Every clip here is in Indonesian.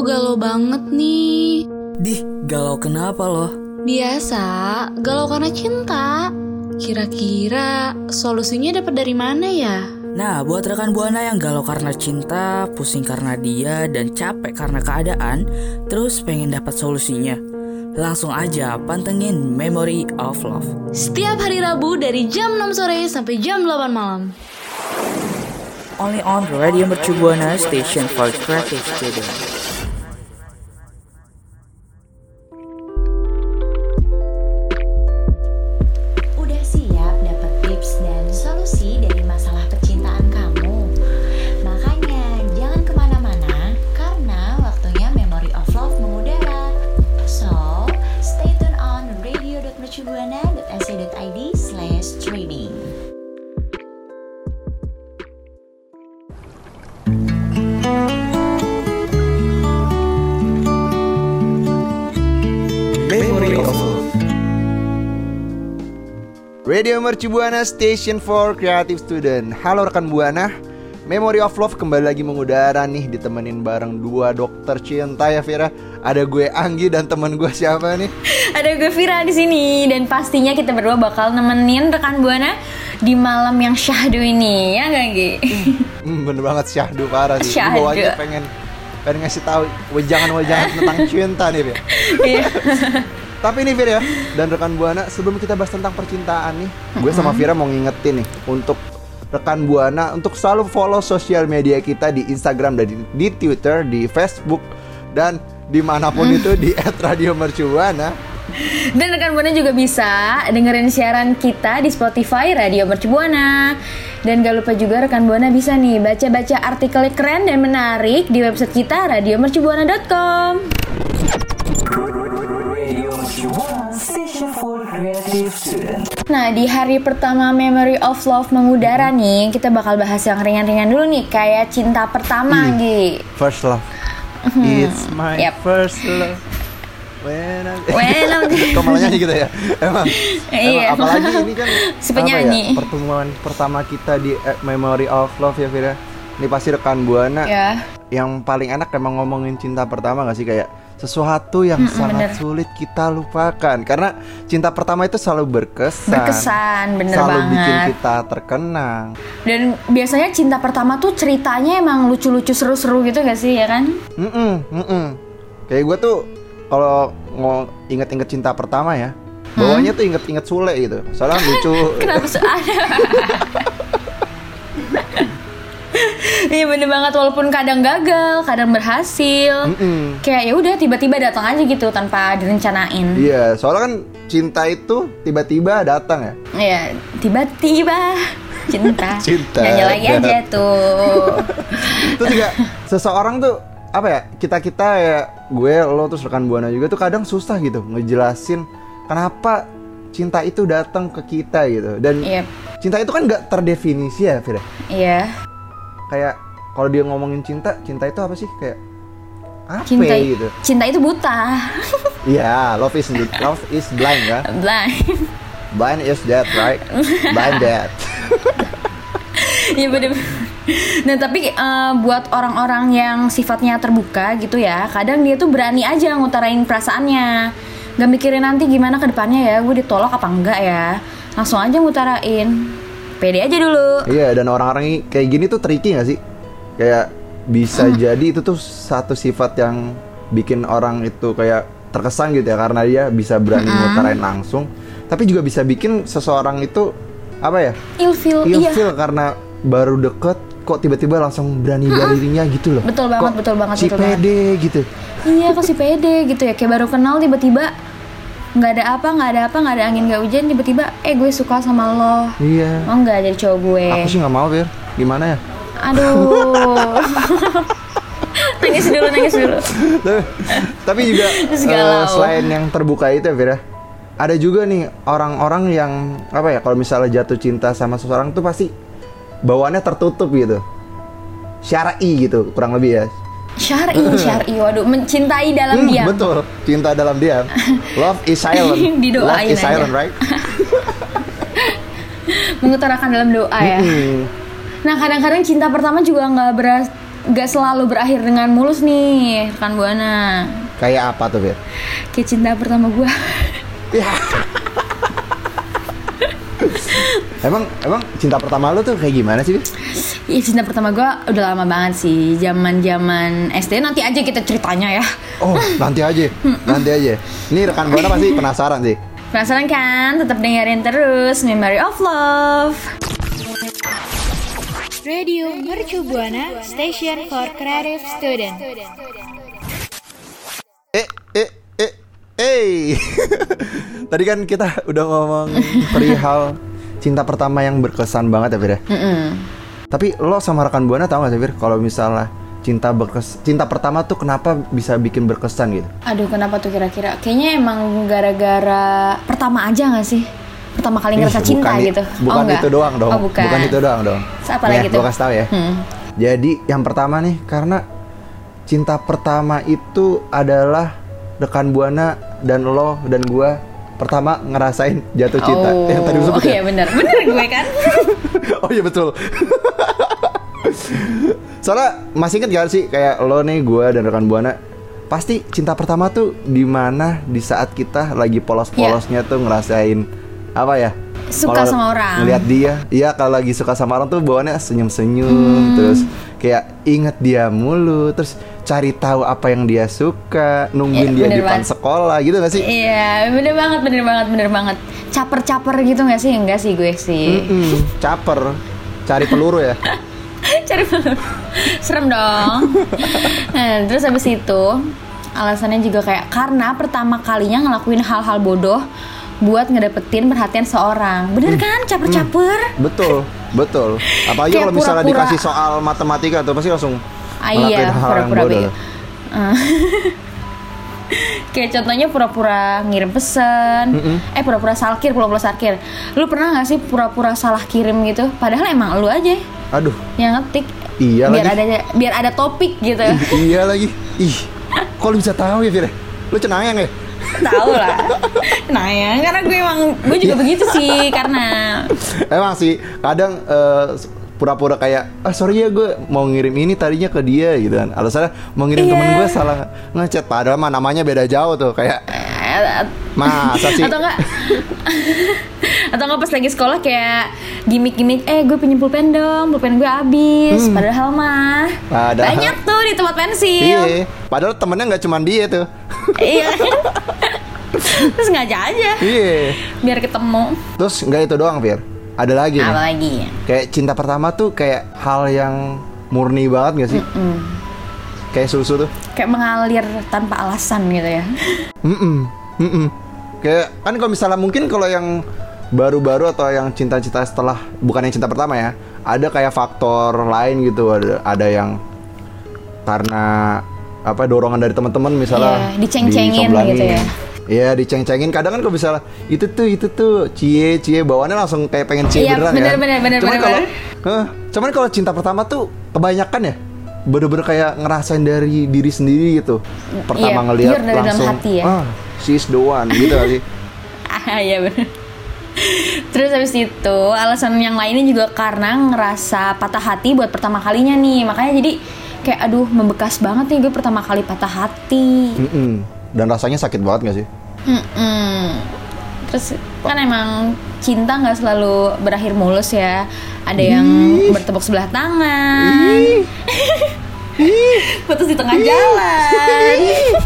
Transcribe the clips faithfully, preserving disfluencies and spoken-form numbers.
Aduh, galau banget nih. Dih, galau kenapa loh? Biasa, galau karena cinta. Kira-kira solusinya dapat dari mana ya? Nah, buat rekan Buana yang galau karena cinta, pusing karena dia, dan capek karena keadaan, terus pengen dapat solusinya, langsung aja pantengin Memory of Love. Setiap hari Rabu dari jam enam sore sampai jam delapan malam. Only on Radio Mercu Buana, station for creative students. Udah siap dapat tips dan solusi dari masalah percintaan kamu? Makanya jangan kemana-mana, karena waktunya Memory of Love mengudara. So, stay tune on radio dot mercubuana dot a c dot i d slash streaming. Memory of Love. Radio Mercu Buana, station for creative student. Halo rekan Buana, Memory of Love kembali lagi mengudara nih, ditemenin bareng dua dokter cinta ya Vira. Ada gue Anggi dan teman gue siapa nih? Ada gue Vira di sini, dan pastinya kita berdua bakal nemenin rekan Buana di malam yang syahdu ini, ya nggak Gi? Hmm, bener banget syahdu parah sih. Syahdu. Gue aja pengen pengen ngasih tahu wejangan-wejangan tentang cinta nih Vir. Iya. Tapi nih Vir ya, dan rekan Buana, sebelum kita bahas tentang percintaan nih, gue sama Vira mau ngingetin nih untuk rekan Buana untuk selalu follow sosial media kita di Instagram dan di, di Twitter, di Facebook, dan dimanapun mm. itu di et radio mercu buana. Dan rekan Buana juga bisa dengerin siaran kita di Spotify Radio Mercu Buana. Dan gak lupa juga rekan Buana bisa nih baca-baca artikel keren dan menarik di website kita radio mercu buana dot com. Nah, di hari pertama Memory of Love mengudara nih, kita bakal bahas yang ringan-ringan dulu nih, kayak cinta pertama, Gi. First love. It's my Yep. first love. When I'm... When I'm... Kok malah nyanyi gitu ya? Emang, Iya. emang apalagi ini kan Si apa penyanyi. ya, pertemuan pertama kita di eh, Memory of Love ya Vira. Ini pasti rekan Buana Ya. yang paling enak emang ngomongin cinta pertama gak sih? Kayak sesuatu yang Mm-mm, sangat bener. sulit kita lupakan. Karena cinta pertama itu selalu berkesan. Berkesan, bener selalu banget. bikin kita terkenang. Dan biasanya cinta pertama tuh ceritanya emang lucu-lucu seru-seru gitu gak sih, ya kan? Mm-mm, mm-mm. Kayak gue tuh kalau mau inget-inget cinta pertama ya, bawahnya tuh inget-inget Sule gitu. Soalnya lucu. Kenapa sih ada? Iya bener banget, walaupun kadang gagal, kadang berhasil. Mm-mm. Kayak ya udah tiba-tiba datang aja gitu tanpa direncanain. Iya, soalnya kan cinta itu tiba-tiba datang ya. Iya, tiba-tiba cinta. Cinta Nyanyi lagi dat- aja tuh. Terus juga seseorang tuh apa ya, kita-kita ya, gue, lo, terus rekan Buana juga tuh kadang susah gitu ngejelasin kenapa cinta itu datang ke kita gitu. Dan Yep. cinta itu kan gak terdefinisi ya Fira. Iya. Kayak kalau dia ngomongin cinta, cinta itu apa sih? Kayak apa Cinta, gitu. cinta itu buta. Iya, love is love is blind kan. Blind. Blind is dead, right? Blind dead. Iya bener. Nah tapi uh, buat orang-orang yang sifatnya terbuka gitu ya, kadang dia tuh berani aja ngutarain perasaannya, gak mikirin nanti gimana ke depannya ya, gue ditolak apa enggak ya, langsung aja ngutarain. Pede aja dulu. Iya, dan orang-orang kayak gini tuh tricky gak sih? Kayak bisa Hmm. jadi itu tuh satu sifat yang bikin orang itu kayak terkesan gitu ya, karena dia bisa berani Hmm. ngutarain langsung. Tapi juga bisa bikin seseorang itu apa ya, Ilfil, iya. ilfil karena baru deket kok tiba-tiba langsung berani dirinya gitu loh. Betul banget, Kok betul banget, si betul pede gitu. Iya kok si pede gitu ya, kayak baru kenal tiba-tiba nggak ada apa, nggak ada apa, nggak ada angin, nggak hujan, tiba-tiba eh gue suka sama lo. Iya. Mau nggak jadi cowok gue? Aku sih nggak mau Fir. Gimana ya? Aduh. Nangis dulu, nangis dulu. Tapi- Tapi juga Terus eh, galau. selain yang terbuka itu ya Fira, ada juga nih orang-orang yang apa ya, kalau misalnya jatuh cinta sama seseorang tuh pasti bawaannya tertutup gitu, syar'i gitu kurang lebih ya. Syar'i, syar'i, waduh, mencintai dalam Hmm, diam. betul, cinta dalam diam. Love is silent. Didoain Love is aja. silent, right? Mengutarakan dalam doa ya. Mm-mm. Nah kadang-kadang cinta pertama juga nggak beras gak selalu berakhir dengan mulus nih rekan Buana. Kayak apa tuh, Fir? Kayak cinta pertama gue. Ya. Emang emang cinta pertama lu tuh kayak gimana sih, Fir? Iya, cinta pertama gue udah lama banget sih, zaman-zaman S D. Nanti aja kita ceritanya ya. Oh, nanti aja, nanti aja. Ini rekan Buana pasti penasaran sih. Penasaran kan? Tetap dengerin terus Memory of Love. Radio Mercu Buana, Station for Creative Student. Eh, eh, eh, eh. Tadi kan kita udah ngomong perihal cinta pertama yang berkesan banget ya, Fir ya. Mm-mm. Tapi lo sama rekan Buana tahu gak sih, Fir, kalau misalnya cinta berkes cinta pertama tuh kenapa bisa bikin berkesan gitu? Aduh, kenapa tuh kira-kira? Kayaknya emang gara-gara pertama aja gak sih? Pertama kali ngerasa Ih, cinta bukan, gitu. Bukan Oh, enggak? itu doang dong. Oh, bukan. Bukan itu doang dong. Apa lagi tuh? Gue kasih tau ya. Hmm. Jadi yang pertama nih, karena cinta pertama itu adalah rekan Buana dan lo dan gua pertama ngerasain jatuh cinta. Oh, Yang tadi disebut oh iya benar. Benar gue kan. Oh iya betul. Soalnya masih inget gak sih kayak lo nih, gua dan rekan Buana pasti cinta pertama tuh di mana di saat kita lagi polos-polosnya tuh ngerasain apa ya? Suka Kalau sama orang. Ngeliat dia, iya kalau lagi suka sama orang tuh bawaannya senyum-senyum, Hmm. terus kayak inget dia mulu, terus cari tahu apa yang dia suka, nungguin Ya, dia di bener depan banget. sekolah gitu gak sih? Iya, bener banget, bener banget, bener banget. Caper-caper gitu gak sih? Enggak sih gue sih. Mm-mm, caper, cari peluru ya. Cari peluru. Serem dong. Nah, terus habis itu alasannya juga kayak karena pertama kalinya ngelakuin hal-hal bodoh buat ngedapetin perhatian seorang. Bener kan? Caper-caper. Betul, betul. Apalagi Kayak kalau misalnya pura-pura. dikasih soal matematika tuh pasti langsung Ah, ngelakuin iya, hal yang pura-pura bodoh. begitu. Uh, Kayak contohnya pura-pura ngirim pesan. Mm-mm. Eh pura-pura salkir, pura-pura salkir. Lu pernah gak sih pura-pura salah kirim gitu? Padahal emang lu aja Aduh, yang ngetik. Iya biar lagi. ada biar ada topik gitu. ih, iya lagi. Ih, kok lu bisa tahu ya, Fir? Lu cenayang ya? Tahu lah. Nah ya, karena gue emang gue juga begitu sih karena Emang sih, kadang eh, pura-pura kayak, ah sorry ya gue mau ngirim ini tadinya ke dia gitu kan. Alasannya mau ngirim Iya. temen gue salah ngechat, padahal mah namanya beda jauh tuh. Kayak, eh, masa sih? atau enggak atau enggak pas lagi sekolah kayak gimmick-gimmick, eh gue pinjem pulpen dong, pulpen gue habis. Hmm. Padahal mah Padahal- banyak tuh di tempat pensil. Iya, padahal temennya nggak cuma dia tuh. Iya. Terus ngajak aja Iya. biar ketemu. Terus nggak itu doang, Fir. Ada lagi nih. Apa lagi? Kayak cinta pertama tuh kayak hal yang murni banget gak sih? Mm. Kayak susu tuh. Kayak mengalir tanpa alasan gitu ya. Mm-mm, mm-mm. Kayak kan kalau misalnya mungkin kalau yang baru-baru atau yang cinta-cinta setelah, bukan yang cinta pertama ya, ada kayak faktor lain gitu. Ada ada yang karena apa dorongan dari teman-teman misalnya Iya, diceng-cengin disoblangin. gitu ya. Iya, diceng-cengin. Kadang kan kalau misalnya itu tuh itu tuh cie cie bawaannya langsung kayak pengen cie Iya, beneran bener, kan. bener, bener, Cuman bener, kalau bener. Heh, cuman kalau cinta pertama tuh kebanyakan ya bener-bener kayak ngerasain dari diri sendiri gitu. Pertama Iya, ngelihat pure dari dalam langsung hati ya. ah, she's the one gitu gak sih? Ah iya bener. Terus habis itu alasan yang lainnya juga karena ngerasa patah hati buat pertama kalinya nih. Makanya jadi kayak aduh membekas banget nih gue pertama kali patah hati. Mm-mm. Dan rasanya sakit banget gak sih? Mm-mm. Terus kan emang cinta nggak selalu berakhir mulus ya. Ada yang bertepuk sebelah tangan, putus di tengah jalan.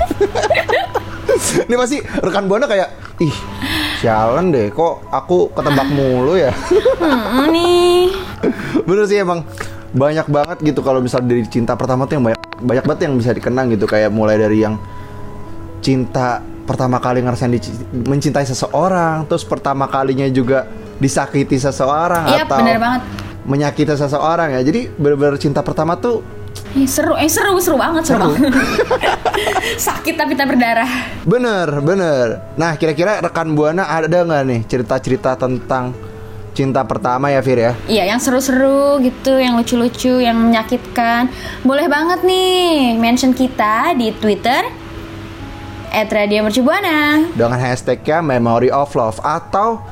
Ini pasti rekan Buana kayak, ih sialan deh kok aku ketebak mulu ya. Hmm, nih. Bener sih emang banyak banget gitu kalau misal dari cinta pertama tuh yang banyak banyak banget yang bisa dikenang gitu. Kayak mulai dari yang cinta pertama kali ngerasain di, mencintai seseorang, terus pertama kalinya juga disakiti seseorang Iya atau bener banget. menyakiti seseorang ya. Jadi bener-bener cinta pertama tuh Eh, seru, eh seru, seru banget, seru, banget. Sakit tapi tak berdarah. bener bener. Nah kira-kira rekan Buana ada nggak nih cerita-cerita tentang cinta pertama ya, Fir ya? Iya, yang seru-seru gitu, yang lucu-lucu, yang menyakitkan. Boleh banget nih mention kita di Twitter at Radio Mercu Buana. Dengan hashtagnya Memory of Love atau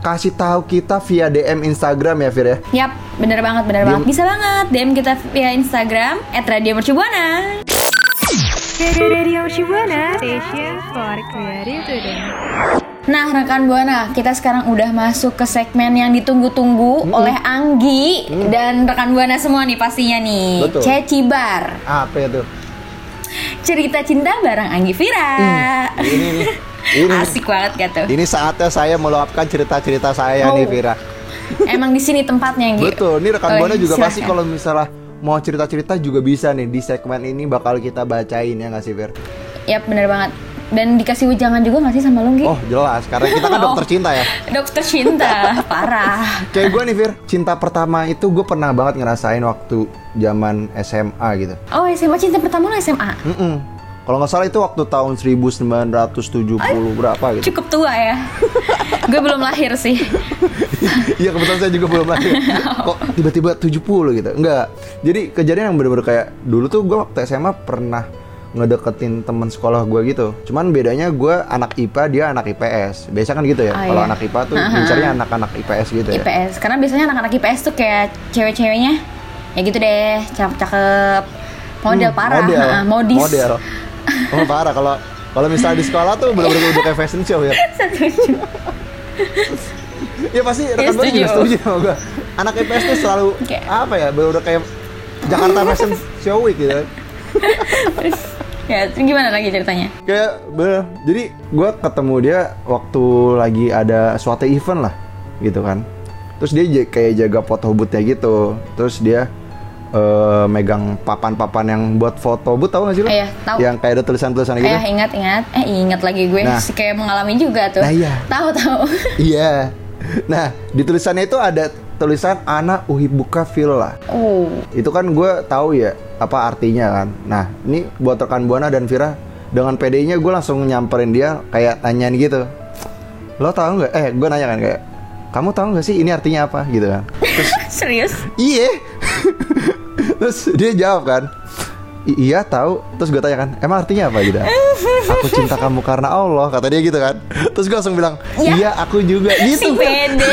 kasih tahu kita via D M Instagram ya Fir ya. Yap, bener banget, bener banget. Bisa banget D M kita via Instagram at Radio Mercubuana. Radio Mercubuana, station for creative student. Nah, rekan Buana, kita sekarang udah masuk ke segmen yang ditunggu-tunggu hmm. oleh Anggi hmm. dan rekan Buana semua nih pastinya nih. Betul. Cecibar. Apa itu? Cerita cinta bareng Anggi Vira. Hmm. Ini nih. Ini. Asik banget gak tuh? Ini saatnya saya meluapkan cerita-cerita saya oh. nih Vira. Emang di sini tempatnya Anggi. Betul. Ini rekan oh, Buana juga silahkan. pasti kalau misalnya mau cerita-cerita juga bisa nih di segmen ini bakal kita bacain ya nggak sih Fir? Yap, bener banget. Dan dikasih ujangan juga gak sih sama lu, Gi? Oh jelas, karena kita kan dokter cinta ya. Dokter cinta, parah. Kayak gue nih Fir, cinta pertama itu gue pernah banget ngerasain waktu zaman S M A gitu. Oh S M A, cinta pertama lu S M A? Mm-mm. Kalau nggak salah itu waktu tahun seribu sembilan ratus tujuh puluh Ay, berapa gitu. Cukup tua ya. Gue belum lahir sih. Iya kebetulan saya juga belum lahir. Kok tiba-tiba tujuh puluh gitu? Enggak. Jadi kejadian yang bener-bener kayak dulu tuh gue waktu S M A pernah ngedeketin teman sekolah gue gitu. Cuman bedanya gue anak I P A, dia anak I P S. Biasa kan gitu ya. Oh, kalau iya. anak I P A tuh mencarinya anak-anak I P S gitu ya. I P S. Karena biasanya anak-anak I P S tuh kayak cewek-ceweknya ya gitu deh, cakep-cakep, model hmm, parah, model, uh, modis. Model. Oh parah kalau kalau misalnya di sekolah tuh bener-bener udah kayak fashion show ya. Setuju. Ya pasti rekan gue juga setuju sama gue. Anak I P S tuh selalu okay. apa ya, bener-bener kayak Jakarta Fashion Show Week gitu. Ya, terus gimana lagi ceritanya? Kayak bener, jadi gue ketemu dia waktu lagi ada suatu event lah, gitu kan. Terus dia j- kayak jaga foto booth-nya gitu. Terus dia uh, megang papan-papan yang buat foto booth, tahu nggak sih lo? Iya, tahu. Yang kayak ada tulisan-tulisan gitu. Iya, ingat, ingat. Eh, ingat lagi gue. Nah, kayak mengalami juga tuh. Nah iya. Tahu, tahu. Iya. Nah, di tulisannya itu ada tulisan Ana Uhibuka Villa. Oh. Itu kan gue tahu ya apa artinya kan. Nah, ini buat rekan Buana dan Vira, dengan pedenya gue langsung nyamperin dia kayak tanyain gitu. Lo tahu nggak? Eh, gue nanya kan kayak, kamu tahu nggak sih ini artinya apa gitu kan? Terus, serius? Iya. Terus dia jawab kan, I- iya tahu. Terus gue tanya kan, emang artinya apa gitu? Aku cinta kamu karena Allah, kata dia gitu kan. Terus gue langsung bilang, ya, iya aku juga gitu. Si pede.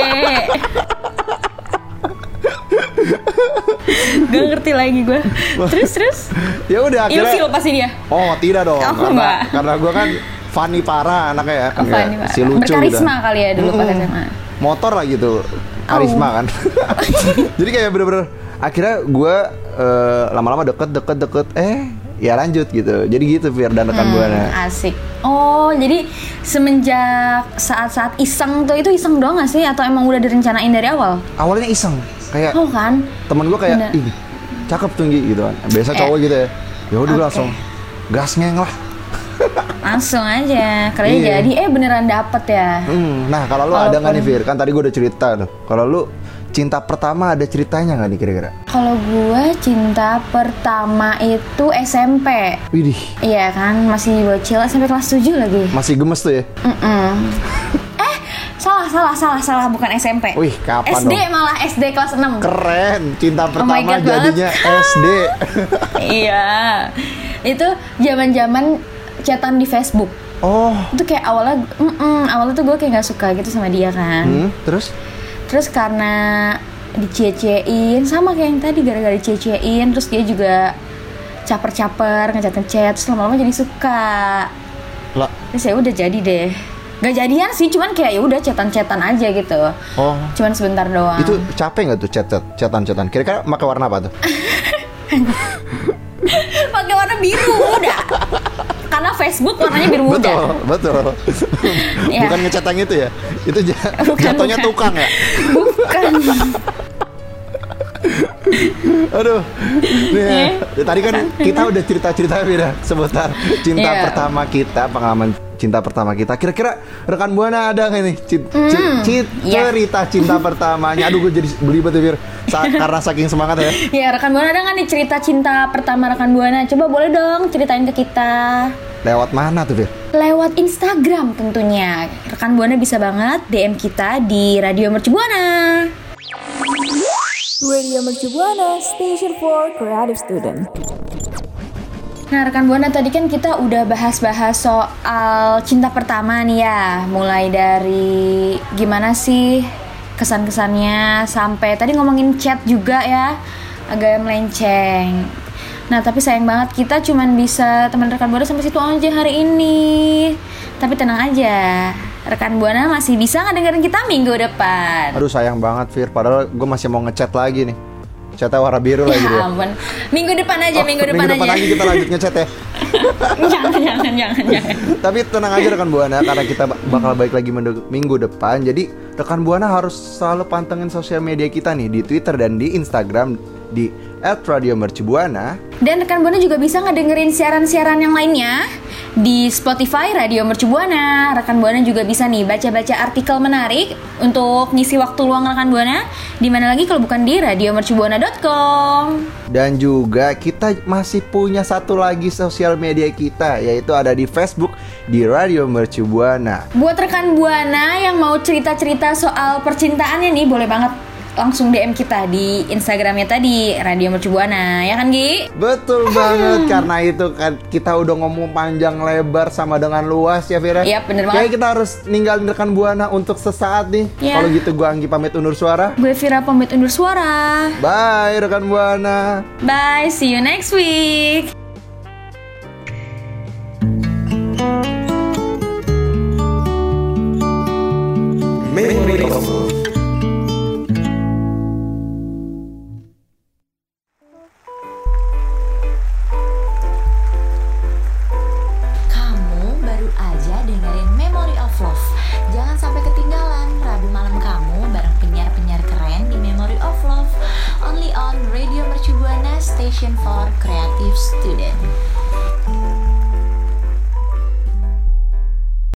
Gak ngerti lagi gue. Terus terus. Ya udah akhirnya. Ilfil pasti dia. Oh tidak dong. Oh, karena enggak. karena gue kan funny parah anaknya ya. Kan oh, funny ya, si lucu berkarisma gitu. Kali ya dulu mm-hmm. pas S M A. Motor lah gitu. Karisma oh. kan. Jadi kayak bener-bener akhirnya gue uh, lama-lama deket deket deket eh ya lanjut gitu. Jadi gitu Fir dan rekan hmm, Buana. Asik. Oh jadi semenjak saat-saat iseng tuh itu iseng doang gak sih? Atau emang udah direncanain dari awal? Awalnya iseng. Kayak oh kan? Temen gue kayak ih cakep tinggi gitu kan. Biasa cowok eh. gitu ya. Ya udah okay. langsung gas ngeng lah. Langsung aja. Karena iya. jadi eh beneran dapet ya. Hmm, nah kalau lu Walaupun... ada nggak nih Fir? Kan tadi gue udah cerita tuh. Kalau lu cinta pertama ada ceritanya nggak nih kira-kira? Kalau gue cinta pertama itu S M P. Widih. Iya kan masih bocil sampai kelas tujuh lagi. Masih gemes tuh ya? Mm-mm. eh salah salah salah salah bukan S M P. Wih kapan S D dong? malah S D kelas enam. Keren. Cinta pertama oh jadinya S D. Iya. Itu zaman-zaman chatan di Facebook. Oh. Itu kayak awalnya, mm awalnya tuh gue kayak nggak suka gitu sama dia kan. Hmm, terus? Terus karena dicie-ciein sama kayak yang tadi gara-gara dicie-ciein, terus dia juga caper-caper ngechat-ngechat, terus lama-lama jadi suka. Lah. Terus ya udah jadi deh. Gak jadian sih, cuman kayak ya udah chatan-chatan aja gitu. Oh. Cuman sebentar doang. Itu capek nggak tuh chat-chat, chatan-chatan? Kira-kira pakai warna apa tuh? Pakai warna biru udah. Karena Facebook warnanya biru muda. Betul, betul. Ya. Bukan ngecat yang itu ya? Itu j- bukan, jatuhnya bukan. tukang ya? Bukan. Aduh. Nih, ya, tadi kan kita udah cerita-cerita Vira seputar cinta yeah. pertama kita, pengalaman cinta pertama kita. Kira-kira rekan Buana ada nggak nih cint- mm, cint- cint- yeah. cerita cinta pertamanya? Aduh, gue jadi belibet ya Vir, Sa- karena saking semangat ya. Ya rekan Buana ada nggak nih cerita cinta pertama rekan Buana? Coba boleh dong ceritain ke kita. Lewat mana tuh Vir? Lewat Instagram tentunya. Rekan Buana bisa banget D M kita di Radio Mercubuana. Radio Mercubuana, station for creative student. Nah rekan Buana, tadi kan kita udah bahas-bahas soal cinta pertama nih ya. Mulai dari gimana sih kesan-kesannya, sampai tadi ngomongin chat juga ya, agak melenceng. Nah tapi sayang banget kita cuman bisa teman rekan Buana sampai situ aja hari ini. Tapi tenang aja, rekan Buana masih bisa ngedengerin kita minggu depan. Aduh sayang banget Fir, padahal gue masih mau ngechat lagi nih. Chatnya warna biru lagi dia. Ya ampun, minggu depan aja, Oh, minggu depan minggu depan aja. lagi kita lanjut ngechat ya. jangan, jangan, jangan, jangan. Tapi tenang aja rekan Buana, karena kita bakal balik lagi minggu depan. Jadi rekan Buana harus selalu pantengin sosial media kita nih di Twitter dan di Instagram di et radio mercubuana. Dan rekan Buana juga bisa ngedengerin siaran-siaran yang lainnya di Spotify Radio Mercu Buana. Rekan Buana juga bisa nih baca-baca artikel menarik untuk ngisi waktu luang rekan Buana. Di mana lagi kalau bukan di radio mercubuana dot com. Dan juga kita masih punya satu lagi sosial media kita, yaitu ada di Facebook di Radio Mercu Buana. Buat rekan Buana yang mau cerita-cerita soal percintaannya nih, boleh banget langsung D M kita di Instagramnya tadi Radio Mercu Buana, ya kan Gi? Betul banget, karena itu kan kita udah ngomong panjang lebar sama dengan luas ya Vira. Iya, bener banget. Kayaknya kita harus ninggalin rekan Buana untuk sesaat nih. Iya. Kalau gitu gue Anggi pamit undur suara. Gue Vira pamit undur suara. Bye rekan Buana. Bye, see you next week. Memory of Love. Kamu baru aja dengerin Memory of Love. Jangan sampai ketinggalan Rabu malam kamu bareng penyiar-penyiar keren di Memory of Love. Only on Radio Mercu Buana, Station for Creative Student.